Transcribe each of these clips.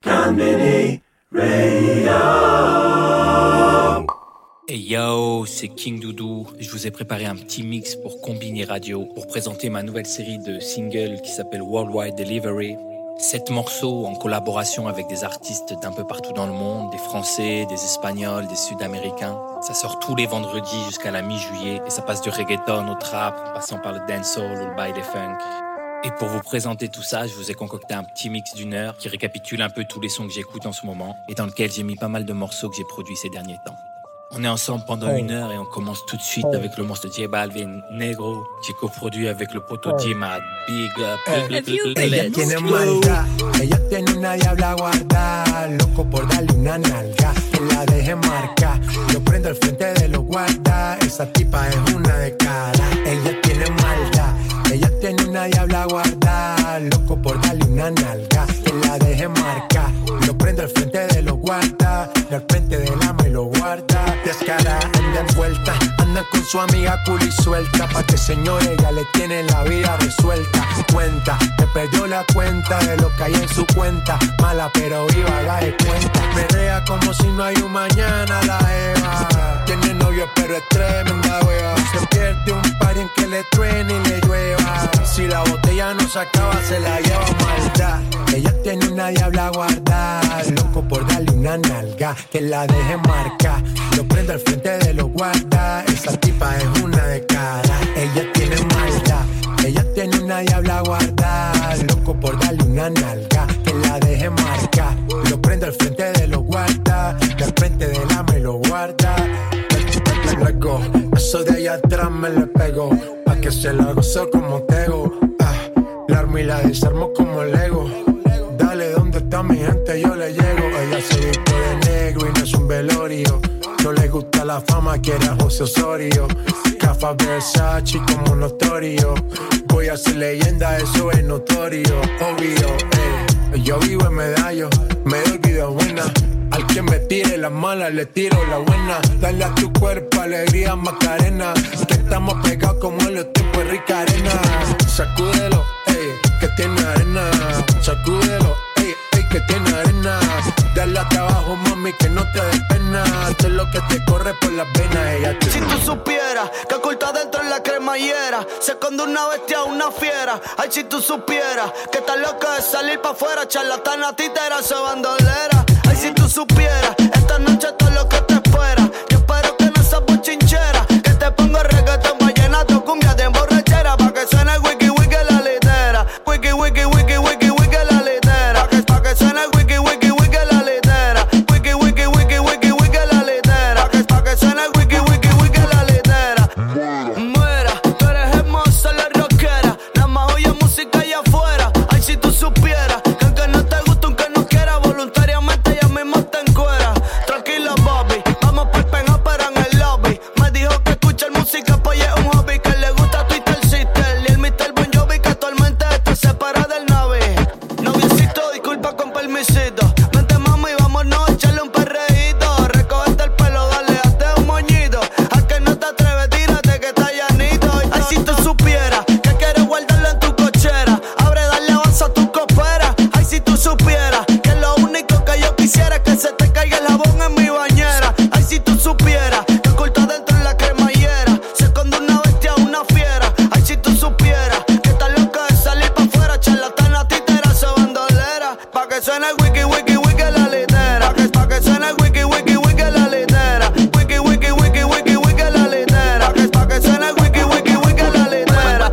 Konbini Radio. Hey yo, c'est King Doudou. Je vous ai préparé un petit mix pour Konbini Radio pour présenter ma nouvelle série de singles qui s'appelle Worldwide Delivery. 7 morceaux en collaboration avec des artistes d'un peu partout dans le monde, des Français, des Espagnols, des Sud-Américains. Ça sort tous les vendredis jusqu'à la mi-juillet et ça passe du reggaeton au trap, en passant par le dancehall ou le baile funk. Et pour vous présenter tout ça, je vous ai concocté un petit mix d'1 heure qui récapitule un peu tous les sons que j'écoute en ce moment et dans lequel j'ai mis pas mal de morceaux que j'ai produits ces derniers temps. On est ensemble pendant 1 heure et on commence tout de suite avec le monstre J Balvin, Negro, qui coproduit avec le poto J-Mad. Big up, ella tiene maldad, ella tiene una diabla guarda, loco por darle una nalga, que la deje marcar, yo prendo el frente de los guarda, esa tipa es una de cara, ella tiene maldad, ella tiene una diabla guarda, loco por darle una nalga, que la deje marcar, yo prendo el frente de los guarda, al frente del ama y lo guarda. Descarada, anda envuelta, anda con su amiga cool y suelta, pa' que señores ya le tienen la vida resuelta. Cuenta, que perdió la cuenta de lo que hay en su cuenta, mala pero viva, la de cuenta. Perrea como si no hay un mañana, la Eva. Tiene novio pero es tremenda wea. Se pierde un par en que le truene y le llueva. Si la botella no se acaba, se la lleva maldad. Ella tiene una diabla guardada, loco por darle una nalga, que la deje marcar. Lo prendo al frente de los guardas, esa tipa es una de cara. Ella tiene maldad, ella tiene una diabla guardada, loco por darle una nalga, que la deje marcar. Lo prendo al frente de los guardas, al frente del ama y lo guarda. Luego, eso de allá atrás me le pego, pa' que se la gozo como tego. La armo y la desarmo como Lego. Dale, ¿dónde está mi gente? Yo le llego. Ella se viste de negro y no es un velorio. No le gusta la fama, quiere a José Osorio. Cafa Versace como notorio. Voy a ser leyenda, eso es notorio. Obvio, yo vivo en Medallo, me doy vida buena. Al que me tire las malas, le tiro la buena. Dale a tu cuerpo alegría, Macarena. Que estamos pegados como en los tiempos de Rica Arena. Sacúdelo, que tiene arena. Sacúdelo, que tiene arena. Dale hasta abajo, mami, que no te dé pena. Esto es lo que te corre por las venas. Ella te... Si tú supieras que oculta dentro en la cremallera se esconde una bestia, una fiera. Ay, si tú supieras que estás loca de salir pa' afuera, charlatana, títera, se bandolera. Ay, si tú supieras, esta noche todo lo que te espera. Yo espero que no seas bochinchera, que te ponga reggaetón, vallenato, cumbia de emborrachera, pa' que suene wiki wiki la litera. Wiki wiki wiki wiki wiki la litera. Pa' que suene wiki wiki wiki la litera. Wiki wiki wiki wiki wiki la litera. Pa' que suene wiki wiki wiki la litera. Muera, tú eres hermosa la rockera, la más oye música allá afuera. Ay, si tú supieras que aunque no te gusta, aunque no quiera, voluntariamente ella misma te encuera. Tranquila, Bobby, vamos pa'l penópera en el lobby. Me dijo que escuchar música pues es un hobby, que le gusta Twitter Sister y el Mr. Bon Jovi, que actualmente está separado del Navi. Noviecito, disculpa con permisito. Vente mami, vámonos a echarle un perreíto. Recogete el pelo, dale, hazte un moñito. A que no te atreves, tírate que está llanito. Ay, si tú supieras que quieres guardarlo en tu cochera, abre, dale, avanza a tu copera. Ay, si tú supieras que lo único que yo quisiera es que se te caiga el jabón en mi bañera. Ay, si tú supieras que oculta dentro en la cremallera se esconde una bestia, una fiera. Ay, si tú supieras que estás loca de salir pa' afuera, charlatana, títera, se bandolera. Pa' que suene wiki wiki wiki la litera. Pa' que suene wiki wiki wiki la litera. Wiki wiki wiki wiki wiki la litera. Pa' que suene wiki wiki wiki la litera.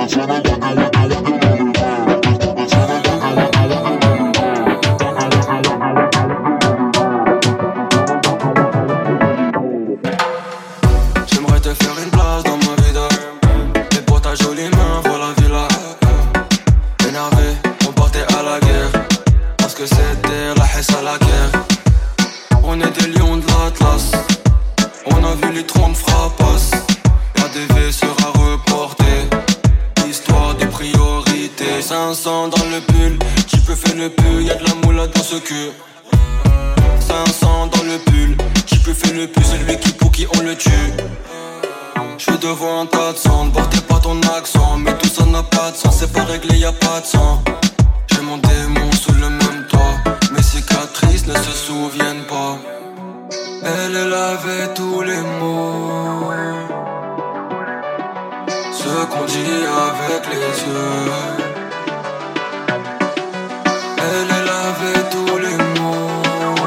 J'aimerais te faire une place dans ma vida, et pour ta jolie main, voilà la villa. Énervé, on partait à la guerre, parce que c'était la hesse à la guerre. On est des lions de l'Atlas, on a vu les trompes frappas. ADV sera reporté, histoire de priorité. 500 dans le pull, qui peut faire le pull, y'a de la moula dans ce cul. 500 dans le pull, qui peut faire le pull, c'est lui qui pour qui on le tue. J'suis devant un tas de sang, portez pas ton accent, mais tout ça n'a pas de sens, c'est pas réglé, y'a pas de sang. J'ai mon démon sous le même toit, mais c'est avait tous les mots, ce qu'on dit avec les yeux. Elle avait tous les mots,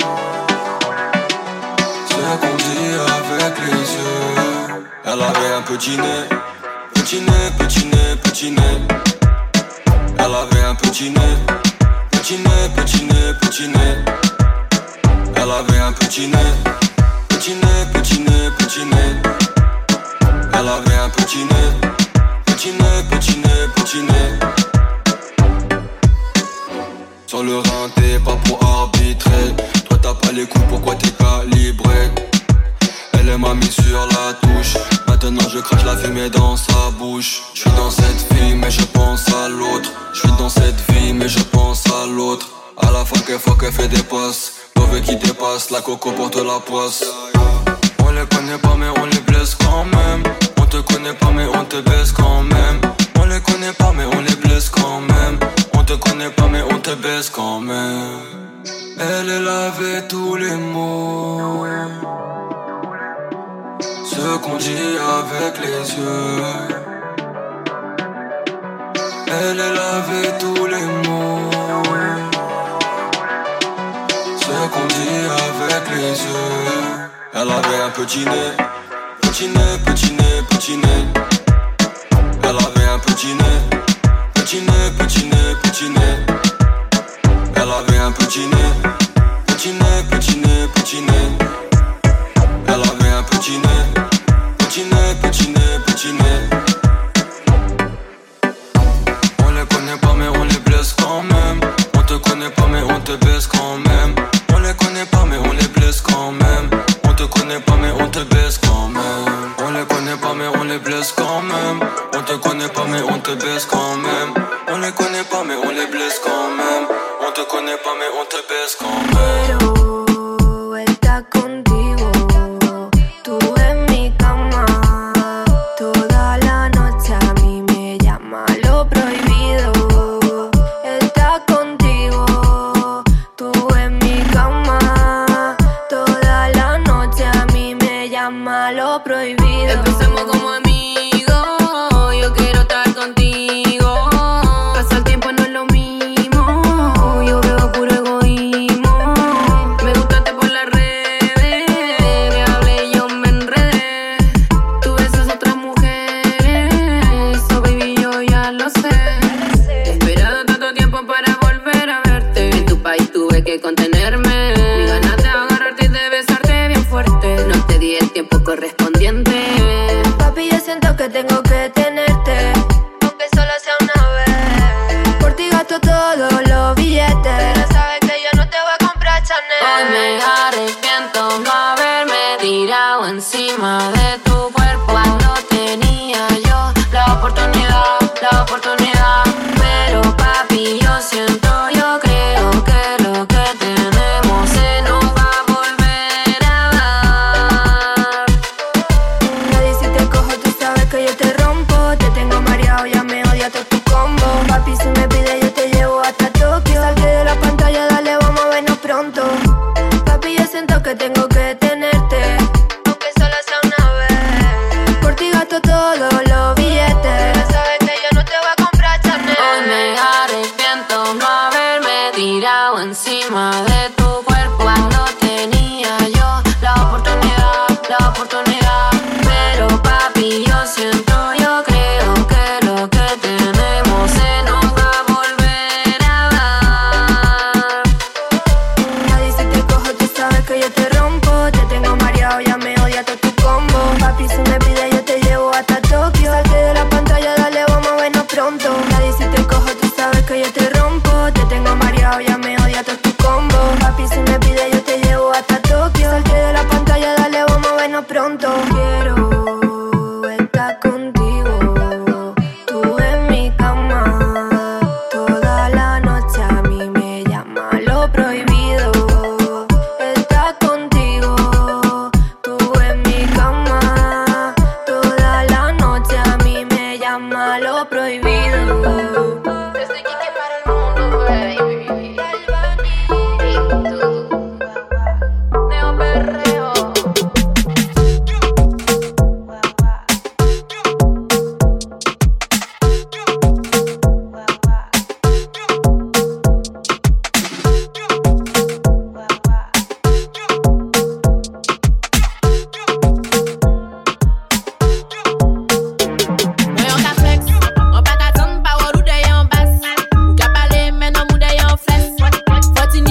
ce qu'on dit avec les yeux. Elle avait un petit nez, petit nez, petit nez, petit nez. Elle avait un petit nez, petit nez, petit nez, petit nez. Elle avait un petit nez, petit nez, petit nez, petit nez. Elle avait un petit nez, petit nez, petit nez, petit nez. Sur le rein t'es pas pour arbitrer. Toi t'as pas les coups, pourquoi t'es calibré? Elle m'a mis sur la touche. Maintenant je crache la fumée dans sa bouche. Je suis dans cette vie mais je pense à l'autre. Je suis dans cette vie mais je pense à l'autre. À la fois qu'elle fait des passes. Mauvais qui dépasse, la coco porte la poisse. On les connaît pas mais on les blesse quand même. On te connaît pas mais on te baisse quand même. On les connaît pas mais on les blesse quand même. On te connaît pas mais on te baisse quand même. Elle avait tous les mots, ce qu'on dit avec les yeux. Elle avait tous les mots, ce qu'on dit avec les yeux. Elle avait un petit nez, petit nez, petit nez, petit nez. Elle avait un petit nez, petit nez, petit nez, petit nez. Elle avait un petit nez, petit nez, petit nez, petit nez. Elle avait un petit nez, petit nez, petit nez, petit nez. On les connaît pas mais on les blesse quand même. On te connaît pas mais on te baisse quand même. On les connaît pas mais on les blesse quand même. On te connaît pas mais on te baisse quand même. On les connaît pas mais on les blesse quand même. On te connaît pas mais on te baisse quand même. On les connaît pas mais on les blesse quand même. On te connaît pas mais on te baisse quand même. Quiero estar contigo, tú en mi cama, toda la noche a mí me llama lo prohibido. Estar contigo, tú en mi cama, toda la noche a mí me llama lo prohibido. Empecemos como amigos, yo quiero estar contigo. Pasa el tiempo no es lo mismo, yo veo puro egoísmo. Me gustaste por las redes, me hablé y yo me enredé. Tú besas a otras mujeres, so baby yo ya lo sé. He esperado tanto tiempo para volver a verte. En tu país tuve que contenerme. Mi ganas de agarrarte y de besarte bien fuerte. No te di el tiempo correspondiente. Papi, yo siento que tengo que tenerte, aunque solo sea una vez. Por ti gasto todos los billetes, pero sabes que yo no te voy a comprar Chanel. Hoy me arrepiento no haberme tirado encima de tu cuerpo cuando tenía yo la oportunidad. Pero papi, yo siento, yo creo que lo que tenemos se nos va a volver a dar. Nadie si te cojo, tú sabes que yo te rompo. Te tengo mareado, ya me odia todo tu combo. Papi, si me pide yo te llevo hasta Tokio. Salte de la pantalla, dale, vamos a vernos pronto. Papi, yo siento que tengo que tenerte, aunque solo sea una vez. Por ti gasto todos los billetes, pero sabes que yo no te voy a comprar Chanel. Hoy me arrepiento no haberme tirado encima de tu cuerpo cuando tenía yo la oportunidad. Pero papi, yo siento, yo creo que lo que tenemos se nos va a volver a dar. Nadie si te cojo, tú sabes que yo te rompo. Te tengo mareado, ya me odia todo tu combo. Papi, si me pide yo te llevo hasta Tokio. Salte de la pantalla, dale, vamos a vernos pronto. Nadie si te cojo, tú sabes que yo te rompo. Te tengo mareado, ya me odia todo tu combo. Papi,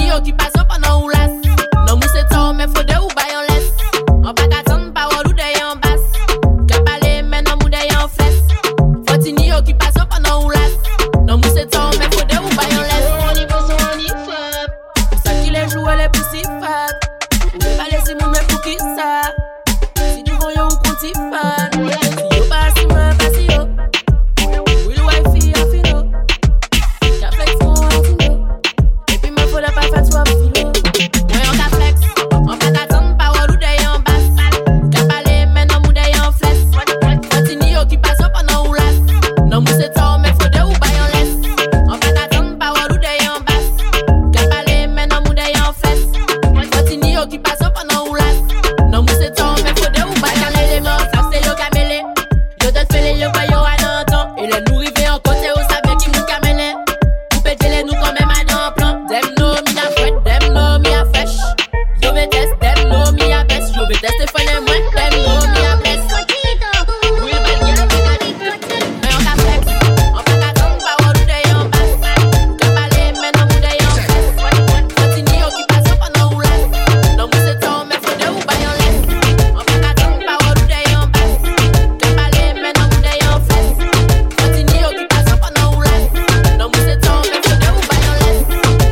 Continue occupation pendant ou lasse. Non, mou c'est temps, mais faut de ou bail en laisse. On pas qu'attendre, parole ou d'ailleurs en basse. Qu'à parler, mais non, mou d'ailleurs en fesse. Continue occupation pendant ou lasse. Non, mou c'est temps, mais faut de ou bail en laisse. On y va, on y fait. Pour ça qu'il est joué, les poussifs fat. Vous pouvez pas laisser mon mec pour qui ça. Si du voyons, on compte y fan. Si yo pas si moi, pas si yo. Oui, le wifi a fino. Y'a flex mon antino. Et puis me faut la pas faire toi filo. Ouais, on t'a flex. On fait t'attendre parole ou d'ailleurs en basse. Qu'à parler, mais non, mou d'ailleurs en flesse. Continue occupation pendant ou lasse. Non, mou c'est temps, mais faut de ou bail en laisse. On fait t'attendre parole ou d'ailleurs en basse. Qu'à parler, mais non, mou d'ailleurs en flesse. Continue occupation pendant ou lasse. Non, mou c'est temps, mais faut de ou bail en laisse. Les morts, ça c'est yo camélé. Yo te fais les yo pas yo à l'entend. Et les nous river en côté, ou savez qui nous camélé. Vous pétez les nous quand même à dans plan. Dem no mi a fouette, dem no mi a fèche. Yo vais test, dem no mi a baisse. Yo vais tester fun et moins, dem no mi a baisse. Oui, belle gueule, mais on t'a flex. On fait t'attendre parole ou d'ailleurs en basse. Qu'à parler, mais non, mou d'ailleurs en fesse. Continue occupation pendant ou lasse. Non, mou c'est temps, mais faut de ou bail en laisse. On fait t'attendre parole ou d'ailleurs en basse. Qu'à parler, mais non, mou d'ailleurs en fesse. Continue occupation pendant ou lasse. Non, mou c'est temps, mais faut de ou bail en laisse.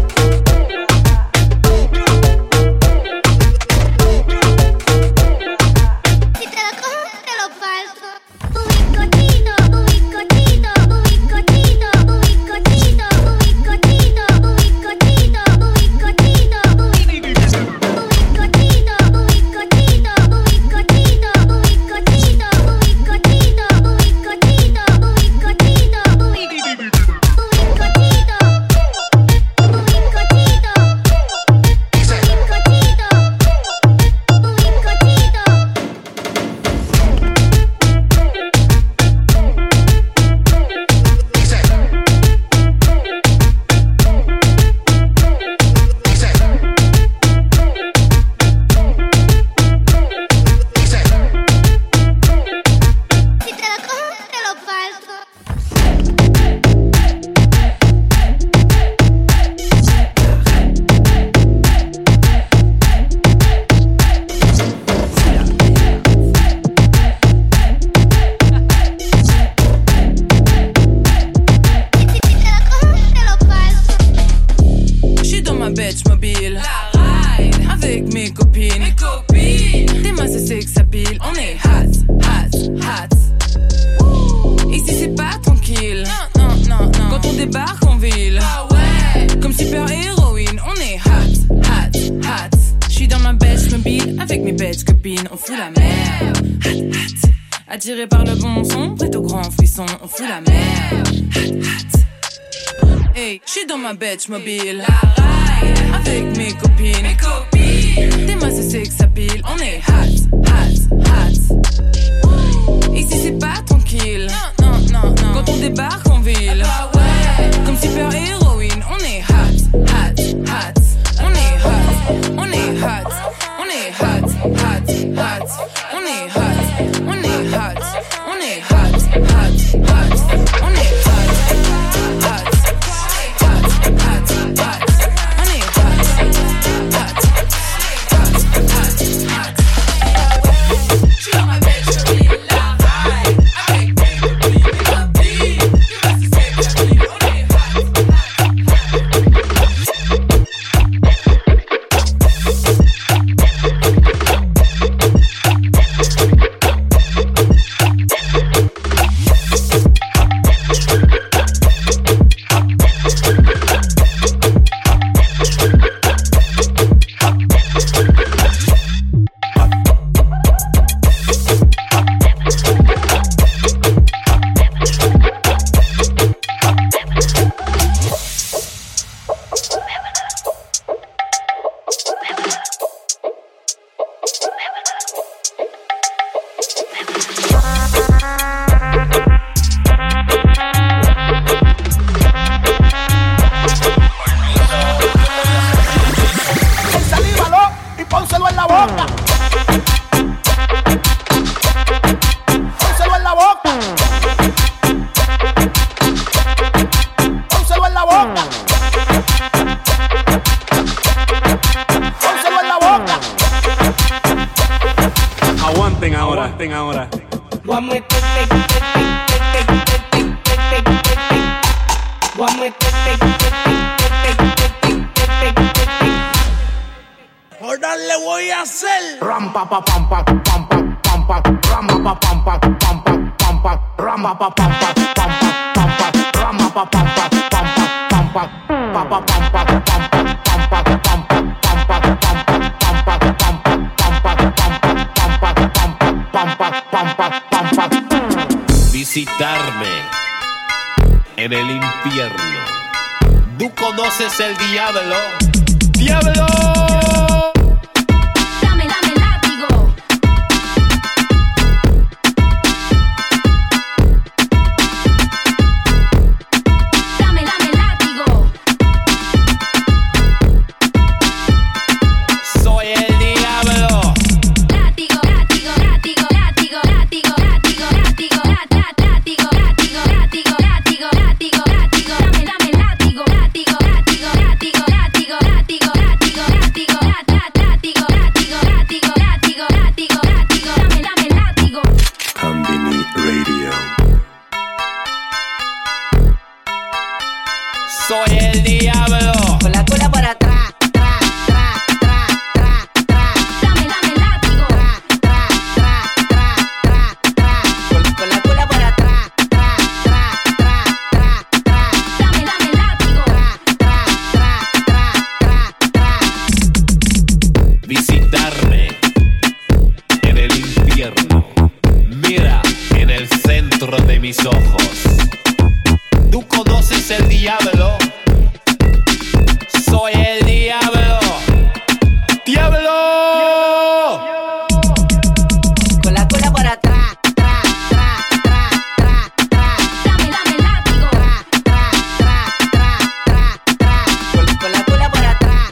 Si te lo cojo, te lo parto. Ubicochito, ubicochito, ubicochito, ubicochito, ubicochito, ubicochito, ubicochito, ubicochito, ubicochito, ubicochito, ubicochito, ubicochito, ubicochito, si te lo cojo, te lo parto. J'suis dans ma Betch mobile, avec mes copines. T'es ma c'est que ça pile. On est hot, hot, hot. Ici c'est pas tranquille. Non. Quand on débarque en ville, comme super héroïne, on est hot, hot, hot. J'suis dans ma Betch mobile, avec mes Betch copines. On fout la mer, hot, hot. Attiré par le bon son, prêt au grand frisson. On fout la mer, hot, hot. Hey, j'suis dans ma Betch mobile, avec mes copines. T'es ma c'est que ça pile. On est hot, hot, hot. Ici c'est pas tranquille. Non. Quand on débarque en ville, comme super héroïne, on est hot, hot, hot. On est hot, on est hot, on est hot, hot, hot. On est hot, on est hot, on est hot, hot, hot. On est hot, hot, hot, hot, hot. On est hot, hot, hot, hot, hot. J'suis dans ma Betch mobile, avec mes copines. On est Aguanten ahora. Ahora le voy a hacer ram pa pa pam pa pam pa pam pa ram pa pam pa pam pa pam pa ram pa pam pa pam pa pam pa ram pa pam pa pam pa pam pa pa pa pam pa pam pa pam pa pam pa pam pa pam pa pam pa pam pa. Visitarme en el infierno. ¿Tú conoces el diablo? ¡Diablo! Soy el diablo. Con la cola para atrás. Dame látigo. Con la cola para atrás. Dame látigo. Visitarme en el infierno. Mira en el centro de mis ojos. ¿Tú conoces el diablo? Soy el diablo. ¡Diablo! Con la cola para atrás. Dame látigo. Con la cola para atrás.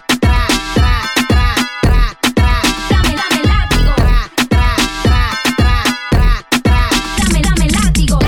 Dame látigo. Dame látigo.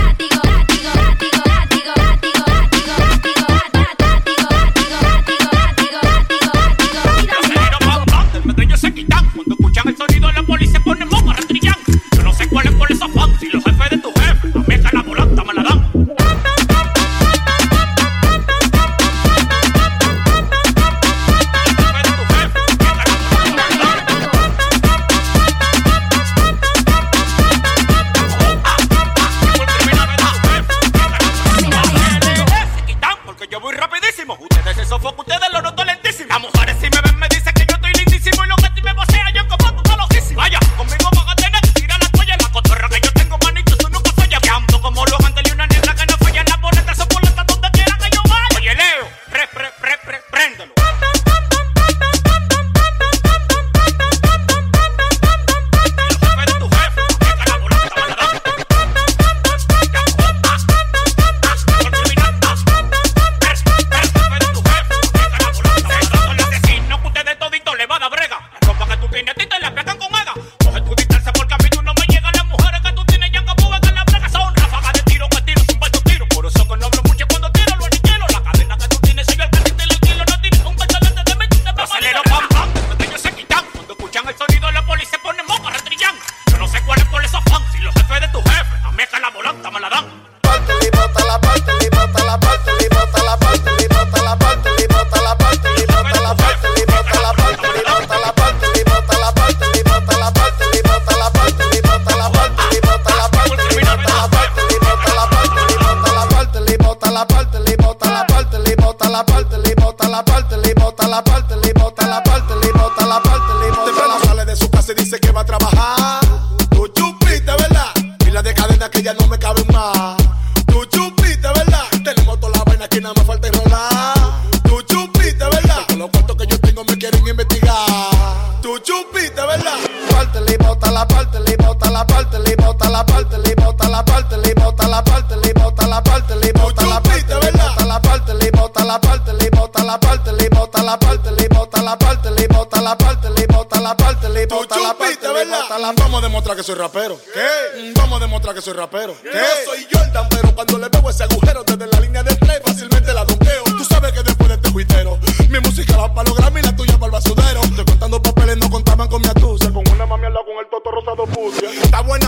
Vamos a demostrar que soy rapero. ¿Qué? Vamos a demostrar que soy rapero. ¿Qué? Yo soy Jordan, pero cuando le veo ese agujero desde la línea de play fácilmente la donkeo. Tú sabes que después de este juitero mi música va para los Grammy y la tuya para el basudero. Estoy contando papeles, no contaban con mi astucia. Con una mami al lado con el toto rosado pucia. Está buena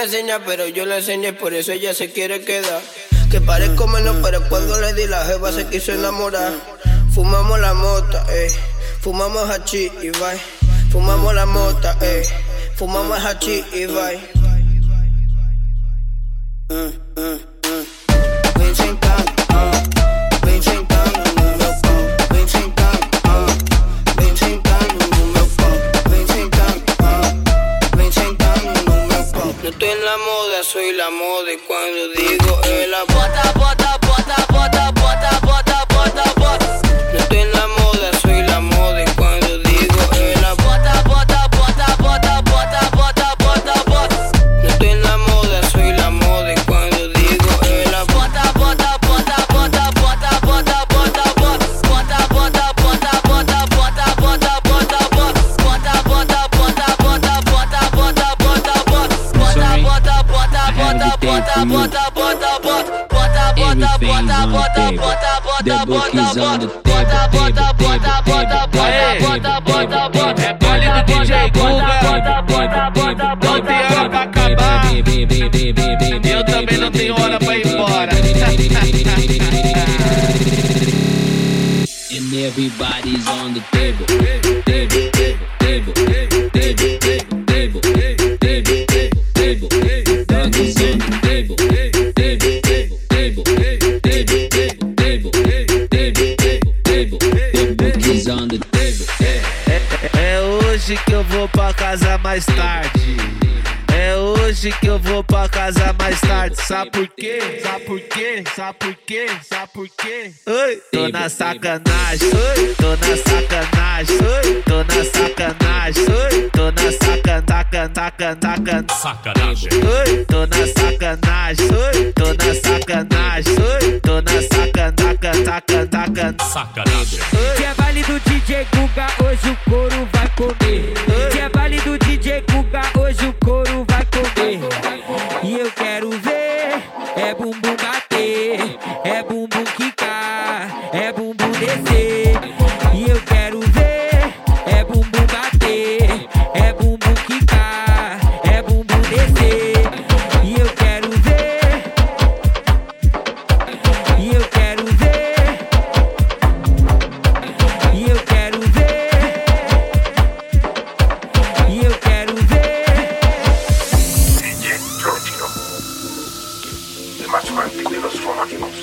le enseña, pero yo le enseñé, por eso ella se quiere quedar. Que parezco menos, pero cuando le di la jeva se quiso enamorar. Fumamos la mota, fumamos hachís y bye. Fumamos la mota, fumamos hachís y bye. Vem sentando, vem sentando no meu pau. Vem sentando, vem sentando no meu pau. Vem sentando no meu pau. No estoy en la moda, soy la moda. Y cuando digo la bota, bota, bota, bota, bota, bota, bota, bota. No estoy en la moda, soy la moda. Y cuando digo la bota, bota, bota, bota, bota, bota, bota, bota. No estoy en la moda, soy la moda. Y cuando digo la bota, bota, bota, bota, bota, bota, bota, bota. Bota, bota, bota, bota, bota, bota, bota, bota. Bota, bota, bota, bota, bota, bota, bota, bota. Bota, bota, bota, bota, bota, bota, bota, bota. The book is on the table. É baile do DJ Guga, não tem hora pra acabar. Eu também não tenho hora pra ir embora. And everybody's on the table. Table, table, table, table, table, table, table, table. Dog is on the table. É hoje que eu vou pra casa mais tarde. É hoje que eu vou pra casa mais tarde. Sabe por quê? Sabe por quê? Sabe por quê? Sabe por quê? Oi, tô na sacanagem. Oi, tô na sacanagem. Oi, tô na sacanagem. Oi, tô na sacanagem. Oi, tô na sacanagem. Oi, tô na sacanagem. Oi, tô na sacanagem. Que é baile do DJ Guga, hoje o couro vai comer. Que é baile do DJ Guga, hoje o couro vai comer. E eu quero ver, é bumbum bater, é bumbum quicar, é bumbum descer. E eu quero ver, é bumbum bater, é bumbum quicar, é bumbum descer. E eu quero ver, e eu quero ver, e eu quero ver, e eu quero ver. DJ Giorgio, el más fuerte de los fanáticos.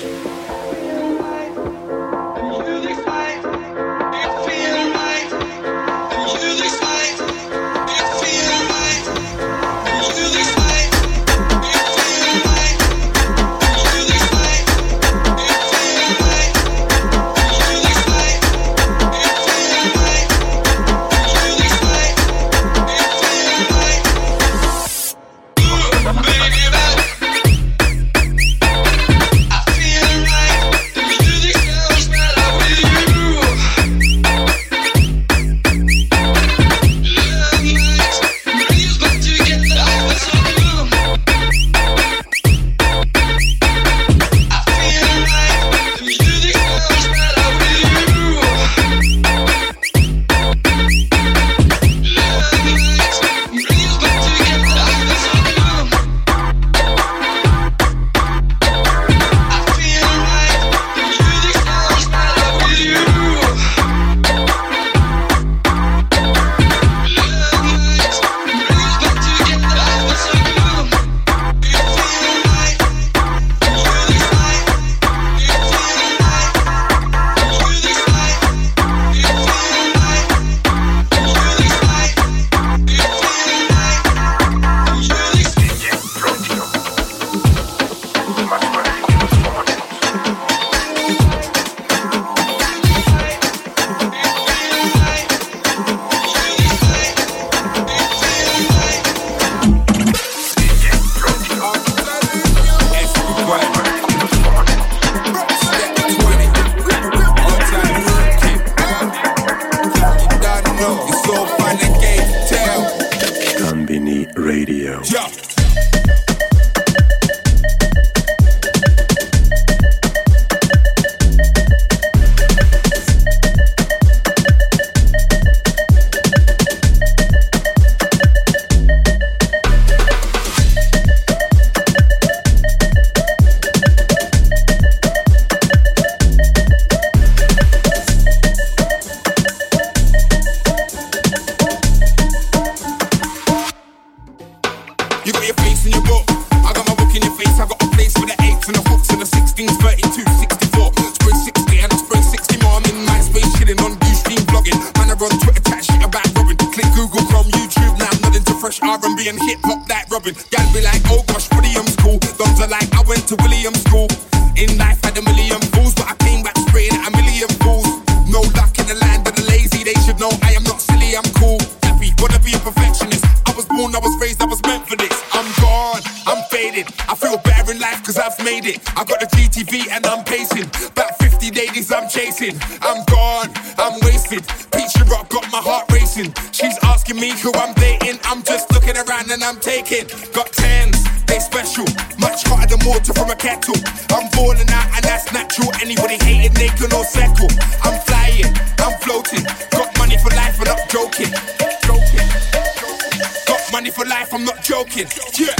Radio. Yeah. and hip hop like Robin. Gal be like, oh gosh, Williams cool. Dons are like, I went to Williams school. In life had a million fools, but I came back spraying at a million fools. No luck in the land of the lazy. They should know I am not silly, I'm cool. Happy, wanna be a perfectionist. I was born, I was raised, I was meant for this. I'm gone, I'm faded. I feel better in life cause I've made it. I got the GTV and I'm pacing. About 50 ladies I'm chasing. I'm gone, I'm wasted. Peachy Rock got my heart racing. She's asking me who I'm dating. I'm just looking around and I'm taking. Got 10s, they special. Much hotter than water from a kettle. I'm falling out and that's natural. Anybody hating, they can all settle. I'm flying, I'm floating. Got money for life, I'm not joking. Got money for life, I'm not joking. Yeah.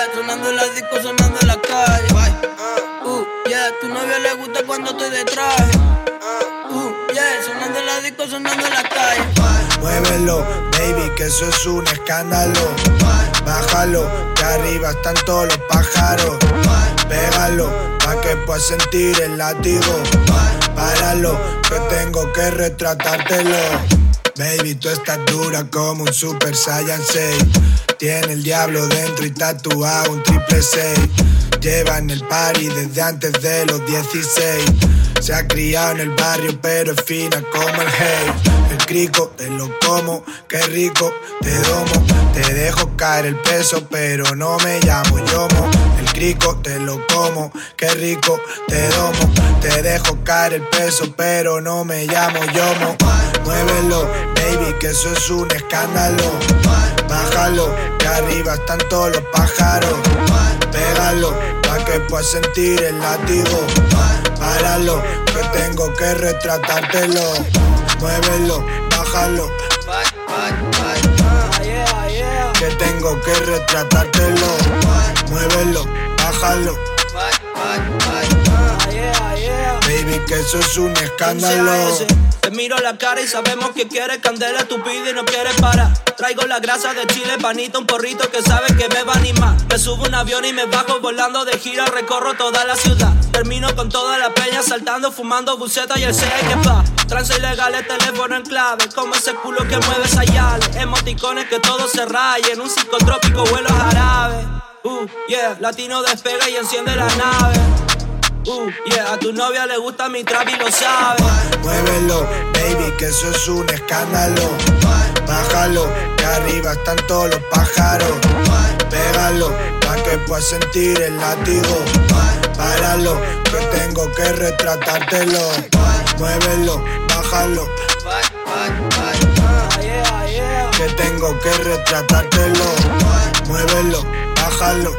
yeah, sonando en la disco, sonando en la calle. Yeah, tu novia le gusta cuando estoy de traje. Yeah, sonando en la disco, sonando en la calle. Muévelo, baby, que eso es un escándalo. Bájalo, que arriba están todos los pájaros. Pégalo, pa' que puedas sentir el látigo. Páralo, que tengo que retratártelo. Baby, tú estás dura como un Super Saiyan 6. Tiene el diablo dentro y tatuado un 666. Lleva en el party desde antes de los 16. Se ha criado en el barrio pero es fina como el hey. El crico, te lo como, qué rico, te domo. Te dejo caer el peso pero no me llamo Yomo. El crico, te lo como, qué rico, te domo. Te dejo caer el peso pero no me llamo Yomo. Muévelo, baby, que eso es un escándalo. Bájalo, que arriba están todos los pájaros. Pégalo, pa' que puedas sentir el látigo. Páralo, que tengo que retratártelo. Muévelo, bájalo, que tengo que retratártelo. Muévelo, bájalo, baby, que eso es un escándalo. Te miro la cara y sabemos que quieres candela, tu pide y no quieres parar. Traigo la grasa de Chile, panita, un porrito que sabes que me va a animar. Me subo un avión y me bajo volando de gira, recorro toda la ciudad. Termino con toda la peña saltando, fumando buceta y el sea que va. Trance ilegales, teléfono en clave, como ese culo que mueve esa yale. Emoticones que todo se rayen, un psicotrópico vuelo jarabe. Yeah, latino despega y enciende la nave. Yeah, a tu novia le gusta mi trap y lo sabe. Muévelo, baby, que eso es un escándalo. Bájalo, que arriba están todos los pájaros. Pégalo, pa' que puedas sentir el látigo. Páralo, que tengo que retratártelo. Muévelo, bájalo, que tengo que retratártelo. Muévelo, bájalo,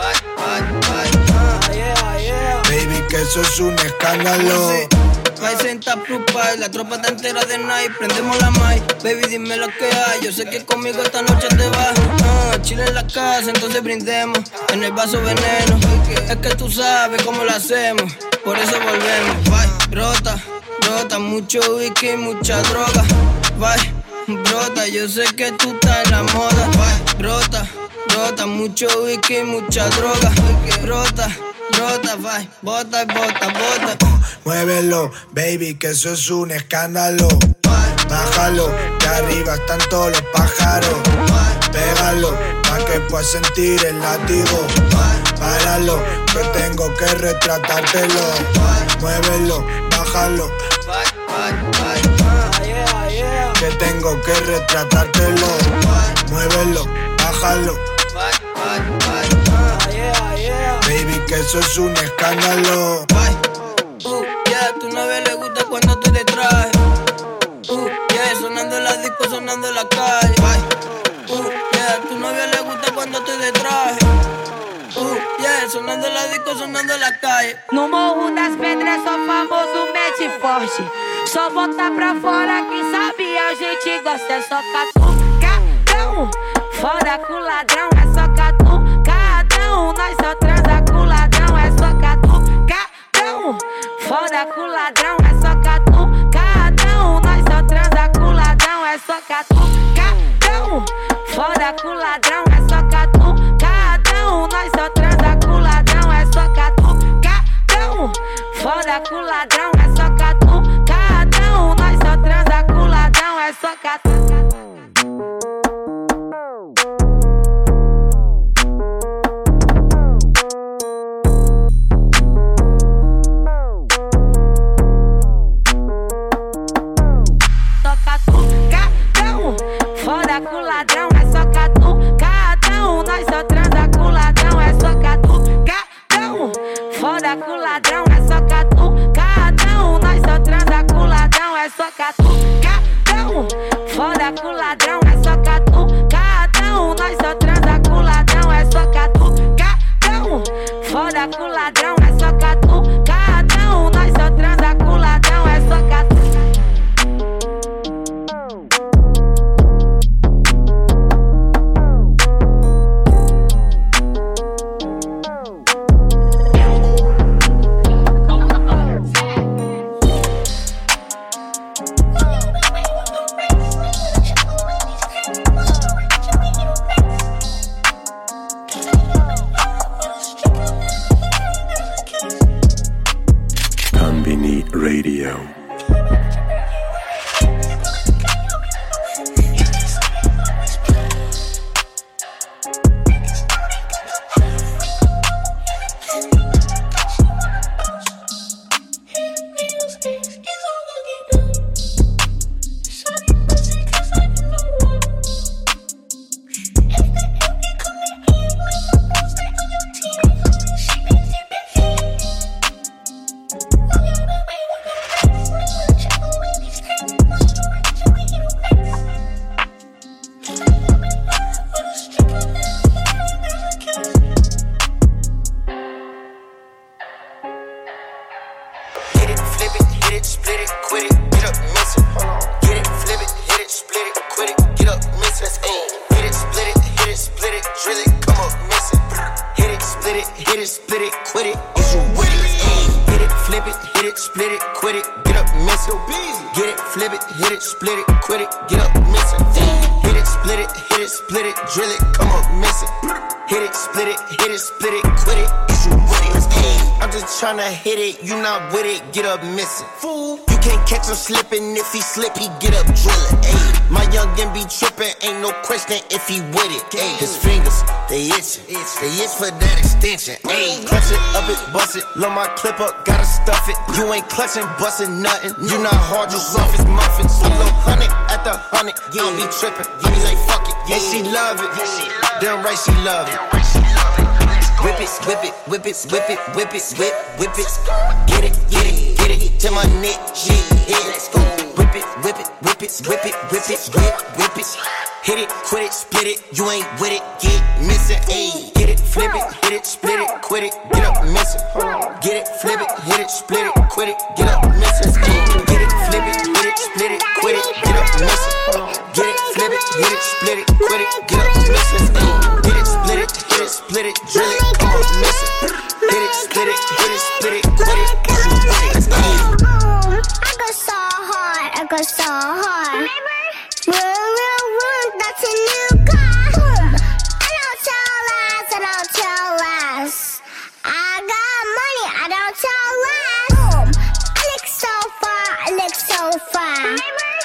baby, que eso es un escándalo. Hay senta plus pie, la tropa está entera de night. Prendemos la mic, baby, dime lo que hay. Yo sé que conmigo esta noche te vas. Chile en la casa, entonces brindemos. En el vaso veneno, es que tú sabes cómo lo hacemos. Por eso volvemos. Bye, rota, mucho whisky, mucha droga. Bye, brota, yo sé que tú estás en la moda. Bye, rota, mucho whisky, mucha droga. Rota, bye, bota. Muévelo, baby, que eso es un escándalo. Bájalo, que arriba están todos los pájaros. Pégalo, pa' que puedas sentir el látigo. Páralo, que tengo que retratártelo. Muévelo, bájalo, que tengo que retratártelo. Muévelo, bájalo, baby, que eso es un escándalo. Yeah, tu novia le gusta cuando tú te trajes. Yeah, sonando en la disco, sonando en la calle. Yeah, tu novia le gusta cuando tú te trajes. Yeah, sonando en la disco, sonando en la calle. No Morro das Pedras sou famoso, mete forte. Só botar pra fora, quem sabe a gente gosta. É só catucadão, fora com ladrão. É só catucadão, nós só transa com ladrão. É só catucadão, fora com ladrão. É só catucadão, nós só transa com ladrão. É só catucadão, fora com ladrão. É só catucadão, nós só transa com ladrão. É só catucadão, fora com ladrão. É só catucadão, nós só transa com ladrão. É só catucadão. Fora com ladrão, é só catucadão. Nós só transa com ladrão, é só catucadão. Fora com ladrão, é só catucadão. Nós só transa com ladrão, é só catucadão. Fora com ladrão, é só catucadão. Nós só transa com ladrão, é só catucadão. Fora com ladrão, é só catucadão. Nós só transa com ladrão, é só catucadão. split it, hit it, split it, quit it. Is you with it? Ayy, hit it, flip it, hit it, split it, quit it. Get up, miss it. Get it, flip it, hit it, split it, quit it. Get up, miss it. Hit it, split it, hit it, split it, drill it, come up, miss it. Hit it, split it, hit it, split it, quit it. Is you with it? Ayy, I'm just tryna hit it, you not with it, get up, miss it. Fool, you can't catch him slipping, if he slip, he get up, drill it. Ayy, my youngin' be trippin', ain't no question if he with it. Ayy, his fingers, they itchin', they itch for that extension. Ayy, clutch it, up it, bust it, load my clip up, gotta stuff it. You ain't clutchin', bustin' nothing, you not hard, you soft as muffins. A little 100 at the 100, I don't be trippin', give me like fuck it, and she love it, damn right she love it. Whip it, whip it, whip it, whip it, whip it, whip it. Get it, get it, get it to my neck, shit, yeah, let's go. Whip it, whip it, whip it, whip it, whip it, whip it. Hit it, quit it, split it, you ain't with it, get missing, ayy. Get it, flip it, hit it, split it, quit it, get up, missing. Get it, flip it, hit it, split it, quit it, get up, missing. Get it, flip it, hit it, split it, quit it, get up, missing. Get it, flip it, hit it, split it, quit it, get up, missing. Get it, split it, hit it, split it, drill it, come on, missing. Hit it, split it, hit it, split it, quit it, get up, missing. I go so hard, I go so hard. That's a new car. I don't tell lies, I don't tell lies. I got money, I don't tell lies. I look so far, I look so far.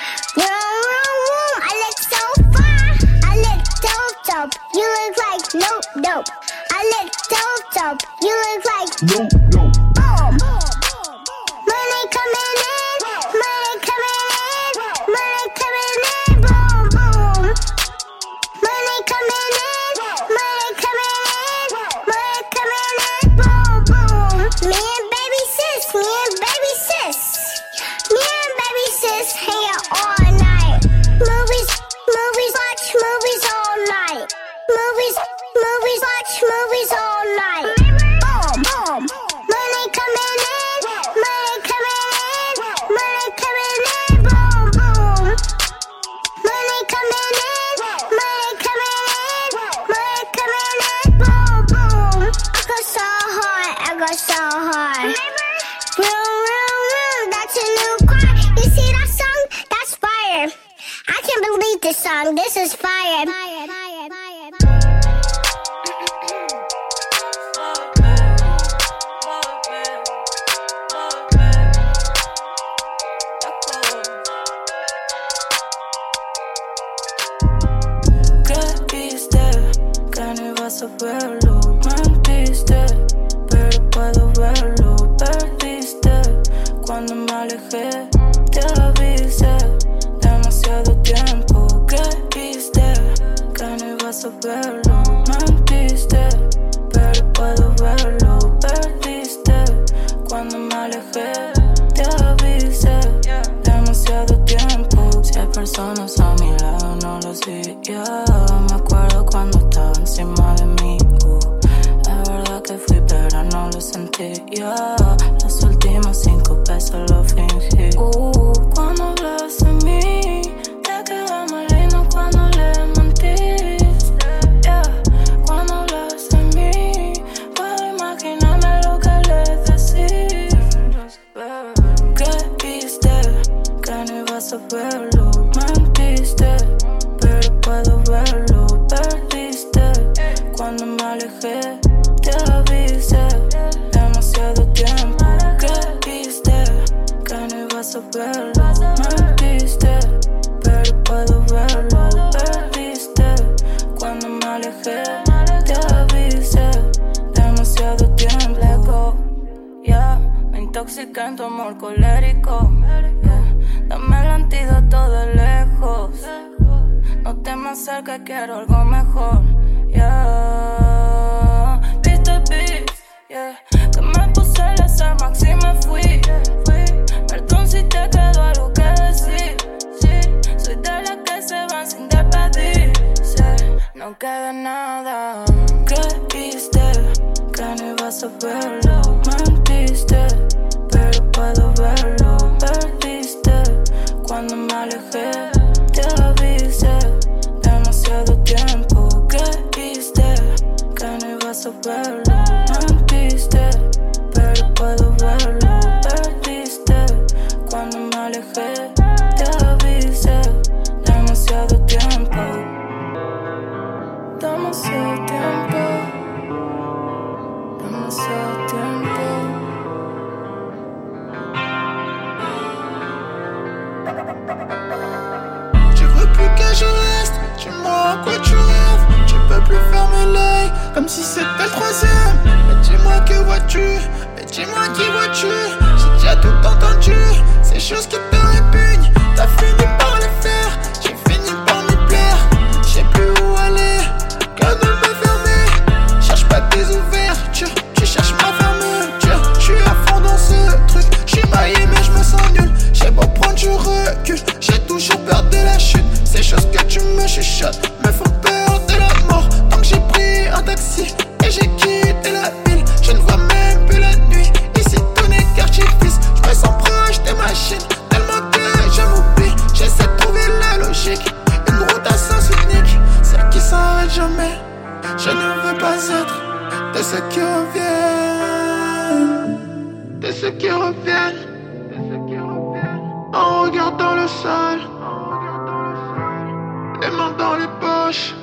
I look so far. I look dope. You look like nope. I look dope. You look like nope. Money coming in, money coming in, money coming in, boom, boom. Money coming in, money coming in, money coming in, boom, boom. Me and baby sis hang out all night. Movies, watch movies all night. Movies, watch movies all night. Boom, boom. Money coming in, money coming in, money coming in, boom, boom. Money coming in, money coming in, money coming in, boom, boom. I go so hard. Vroom, that's a new car. You see that song? That's fire. I can't believe this song. This is fire. Saberlo, mentiste, pero puedo verlo. Perdiste cuando me alejé, te avisé. Demasiado tiempo creíste que no ibas a verlo. Mentiste, pero puedo verlo. Perdiste cuando me alejé, te avisé. Demasiado tiempo. Si hay personas a mi lado, no lo hacía. Me acuerdo cuando estaba encima de mí. Es verdad que fui, pero no lo sentía. Las últimas 5 pesos lo fingí. Cuando hablas de mí, te queda más lindo cuando le mentís. Cuando hablas de mí, puedo imaginarme lo que le decís. Creíste que no ibas a verlo. Mentiste, pero puedo verlo. Perdiste cuando me alejé, te avisé. Demasiado tiempo creíste que no ibas a verlo. Mentiste, pero puedo verlo. Perdiste cuando me alejé, te avisé. Demasiado tiempo. Me intoxiqué en tu amor colérico. Dame el antídoto de lejos. No te me acerques, quiero algo mejor. Viste, que me puse las armas y me fui. Perdón si te quedó algo que decir. Soy de las que se van sin despedirse. No queda nada. Creíste que no ibas a verlo. Mentiste, pero puedo verlo. Perdiste cuando me alejé, te avisé. Demasiado tiempo creíste que no ibas a verlo. mentiste, pero puedo verlo. Perdiste cuando me alejé, te avisé. Demasiado tiempo, demasiado tiempo, demasiado tiempo. Tu veux plus que je reste, dis-moi à quoi tu rêves. Tu peux plus fermer l'œil, comme si c'était le troisième. Mais dis-moi que vois-tu, mais dis-moi qui vois-tu. J'ai déjà tout entendu, ces choses qui te répugnent. T'as fini par les faire, j'ai fini par m'y plaire. J'ai plus où aller, que de me fermer. Cherche pas tes ouvertures, tu cherches ma fermeture. J'suis à fond dans ce truc, j'suis maillé mais j'me sens nul. J'ai beau prendre du recul, j'ai toujours peur de la chute. Ces choses que tu me chuchotes me font peur de la mort. Donc j'ai pris un taxi et j'ai quitté la ville. Je ne vois même plus la nuit, ici tout n'est qu'artifice. J'me sens proche des machines, tellement que je m'oublie. J'essaie de trouver la logique, une route à sens unique, celle qui s'arrête jamais. Je ne veux pas être de ceux qui reviennent, de ceux qui reviennent, en regardant le sol, les mains dans les poches.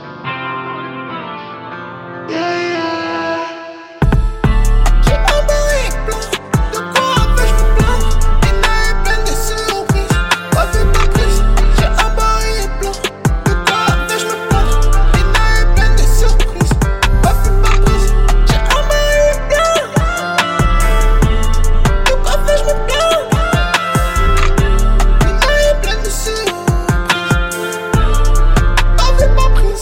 Yeah, yeah. J'ai un baril plein, de quoi vais-je me plaindre? Une année pleine de surprises, pas vu pas prise. J'ai un baril plein, de quoi vais-je me plaindre? Une année pleine de surprises, pas vu pas prise. J'ai un baril plein, de quoi vais-je me plaindre? Une année pleine de surprises, pas vu pas prise.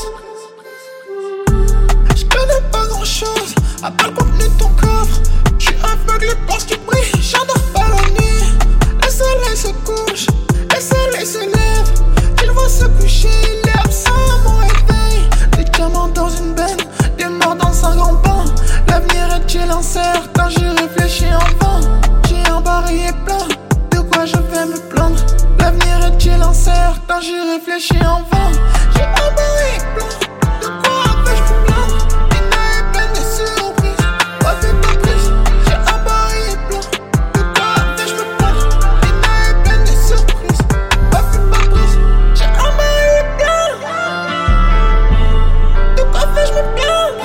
Je connais pas grand chose, à part le contenu de ton coffre. J'suis aveuglé par ce qui brille, j'adore pas la nuit. Le soleil se couche, le soleil se lève. Il va se coucher, il est absent à mon réveil. Des diamants dans une benne, des morts dans un grand bain. L'avenir est-il incertain, j'y réfléchis en vain. J'ai un barillet plein, de quoi je vais me plaindre? L'avenir est-il incertain, j'y réfléchis en vain. J'ai un barillet plein, de quoi vais-je me plaindre? Une année pleine de surprises, pas vu pas prise. J'ai un barillet plein, de quoi vais-je me plaindre? Une année pleine de surprises, pas vu pas prise. J'ai un barillet plein, de quoi vais-je me plaindre?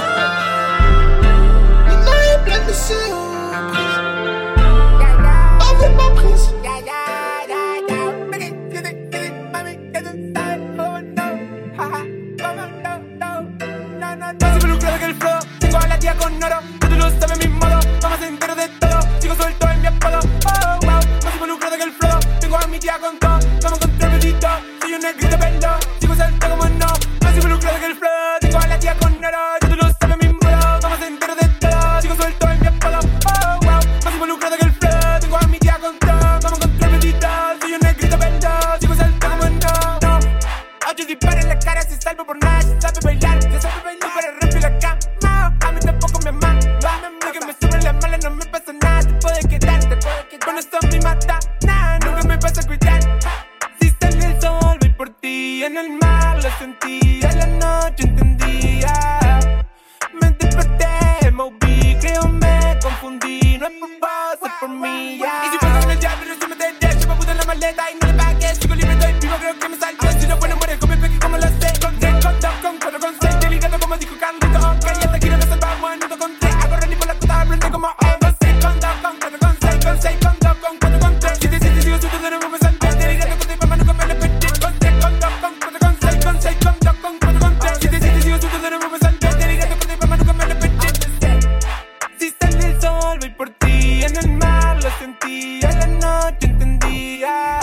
Une année pleine de surprises, pas vu pas prise. Más involucrado que el flow, tengo a la tía con oro. Tú lo sabes mi modo, vamos entero de todo. Sigo suelto en mi apodo, oh wow. Más involucrado que el flow, tengo a mi tía con todo. Vamos contra el pedito, soy un negrito pelo. Sigo suelto como no, más involucrado que el flow, tengo a la tía con oro. Tú lo sabes mi modo, vamos entero de todo. Sigo suelto en mi apodo, oh wow. Más involucrado que el flow, tengo a mi tía con todo. Vamos contra el pedito, soy un negrito pelo. Sigo suelto como no, no. 8 disparos en la cara, si salvo por nada, se sabe bailar. Se sabe bailar para romper la cama. A mí tampoco me ama. Lo que me sobre la mala no me pasa nada. Te puede quedar, con esto me mata. Nah, nunca me vas a cuidar. Si sale el sol, voy por ti. En el mar lo sentí, a la noche entendía. Me desperté, moví, creo me confundí. No es por vos, es por mí, yeah. Y si vuelvo con el diablo, no se me deja. Llevo puta en la maleta y no le pagué. Sigo libre, estoy vivo, creo que me salvé. Si no puedo morir, con mi peque como lo sé. Con 3, con 2, con 4, con 6. Delicado como dijo Carlito. Ok, hasta aquí no nos salvamos, en 1, con 3. Hago rally por la costa, aprende como con 6, con 2, con 4, con 6, con 6, con 2, con 4, con 3. 7, 7, sigo suelto, de nuevo me salvé. Delicado con 3, mamá, nunca me lo perdí. Con 3, con 2, con 4, con 6, con 6, con 2, con 4, con 3. 7, 7, sigo suelto, de nuevo me salvé. Delicado con 3, mamá, nunca me lo perdí. Si sale el sol, voy por ti. En el mar lo sentí, a la noche entendía.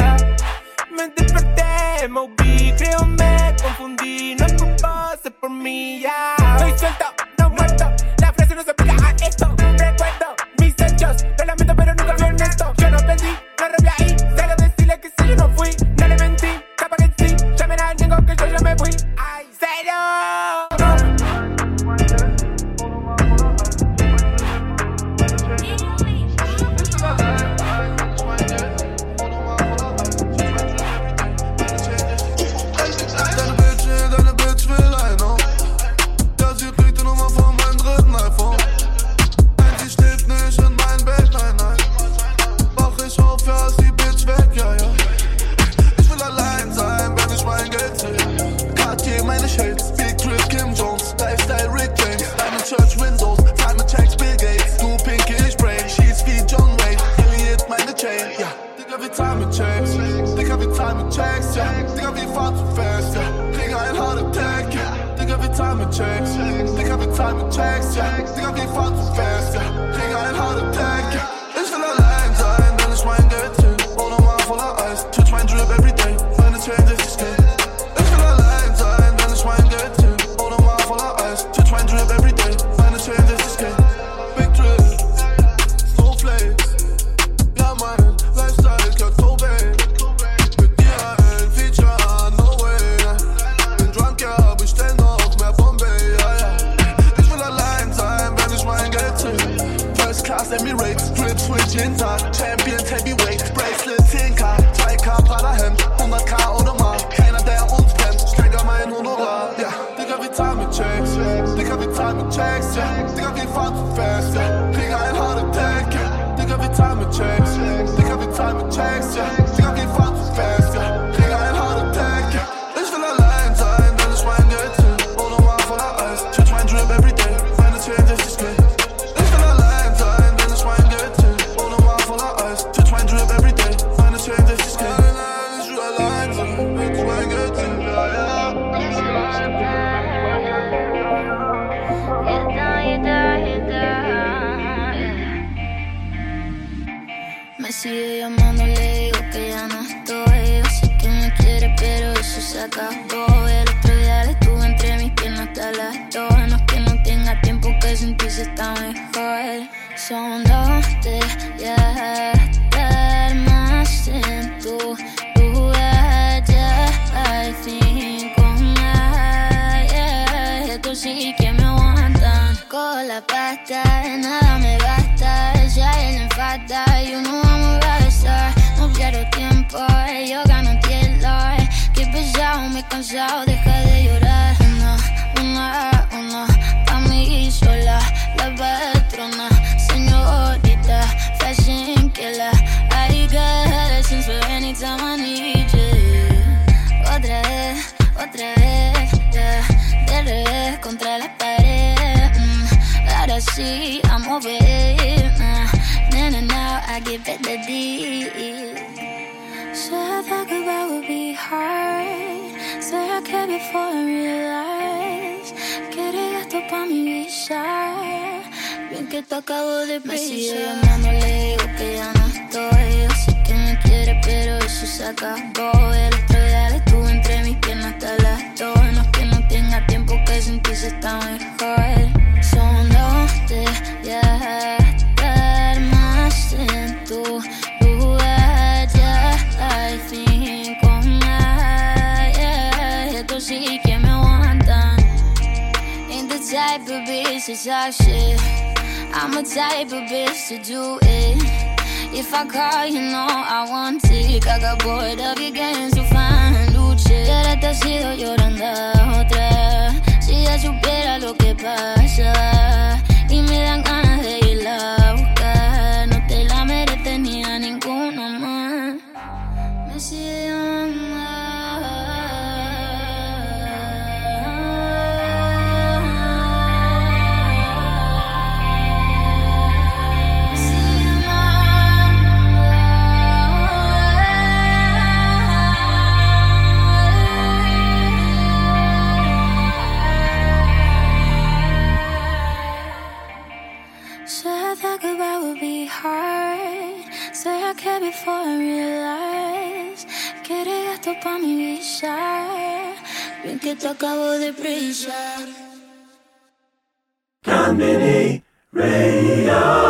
Me desperté, moví, creo me confundí. No es por vos, es por mí, ya. Estoy suelto, no muerto. La frase no se aplica a esto. Recuerdo mis hechos, lo lamento pero nunca fui honesto. Yo no perdí, no revelé ahí. Cero decirle que sí, yo no fui. No le mentí, capaz que sí. Llamen al niego que yo ya me fui. Ay, cero. Deine Bitch will line, no. Der sieht Richten fahr zu fest, ja. Krieg einen Heart Attack, ja. Ich will allein sein, denn ich mein Geld zähl. Ohne Mar voller Eis, touch mein Drip everyday. Meine Chain 60k. Ich will allein sein, denn ich mein Geld zähl. Ohne Mar voller Eis, touch mein Drip everyday. Meine Chain 60k. Big Drip, Snowflakes. Ja, mein Lifestyle, klar Tobey. Mit dir ein Feature, no way. Bin drunk, ja, aber ich stell noch mehr Bombay, ja, ja. Ich will allein sein, wenn ich mein Geld zähl. First Class Emirates, Drip Switch jeden Tag. Champions Heavyweight, Bracelet 10k. 2k Prada-Hemd, 100k oder mal. Keiner, der uns kennt, steiger mein Honorar, ja. Digga, wir zahlen mit Checks, Digga, wir zahlen mit Checks, ja. Digga, wir fahren zu fest, ja. Krieg einen Heart Attack, ja. Digga, wir zahlen mit Checks, Digga, wir zahlen mit Checks, ja. Digga, wir fahren zu fest, ja. Krieg einen Heart Attack, ja. Ich will allein sein, denn ich mein Geld zähl. Ohne Mar voller Eis, touch mein Drip everyday. Meine Chain 60k. Ich will allein sein, denn ich mein Geld zähl. Ohne Mar voller Eis, touch mein Drip everyday. Meine Chain 60k. Nein, ich will allein sein, wenn ich mein Geld zähl. Ja, ja. Me sigue llamando, le digo que ya no estoy. Yo sé que me quiere, pero eso se acabó. El otro día le estuve entre mis piernas hasta las 2. No es que no tenga tiempo, que sin ti se está mejor. Son 2 de estar más en tu lugar. Ya hay 5 más. Yeah. Esto sí que me aguantan. Con la pasta, de nada me basta. Ya él me falta y uno vamos a besar. No pierdo tiempo, yo gano tiempo. Que pesado, me he cansado, deja de llorar. Una, pa' mí sola. La patrona, señorita, fashion killer. I got lessons for any time I need you. Otra vez, yeah. De revés contra la pared. Ahora sí, I'm over it. Now I get better deep. Said that goodbye would be hard. Said I cared before I realized. Quería esto pa' mi visa. Bien que te acabo de prisa. Me sigue llamando, le digo que ya no estoy. Yo sé que me quiere, pero eso se acabó. El otro día le estuve entre mis piernas hasta las 2. No es que no tenga tiempo, que sin ti se está mejor. Son 2 de estar más en tu lugar. Ya hay 5 más. Yeah. Esto sí que me aguantan. Ain't the type of bitch to talk shit. I'm a type of bitch to do it. If I call, you know I want it. I got bored of your games, so fine, luche. Y ahora te has ido llorando a otra. Si ella supiera lo que pasa. Y me dan ganas de irla a buscar. No te la mereces ni a ninguno más. Me sigue llamando. Before I realize, quería esto pa' mi visa. Bien que te acabo de prisa. Conmini Radio.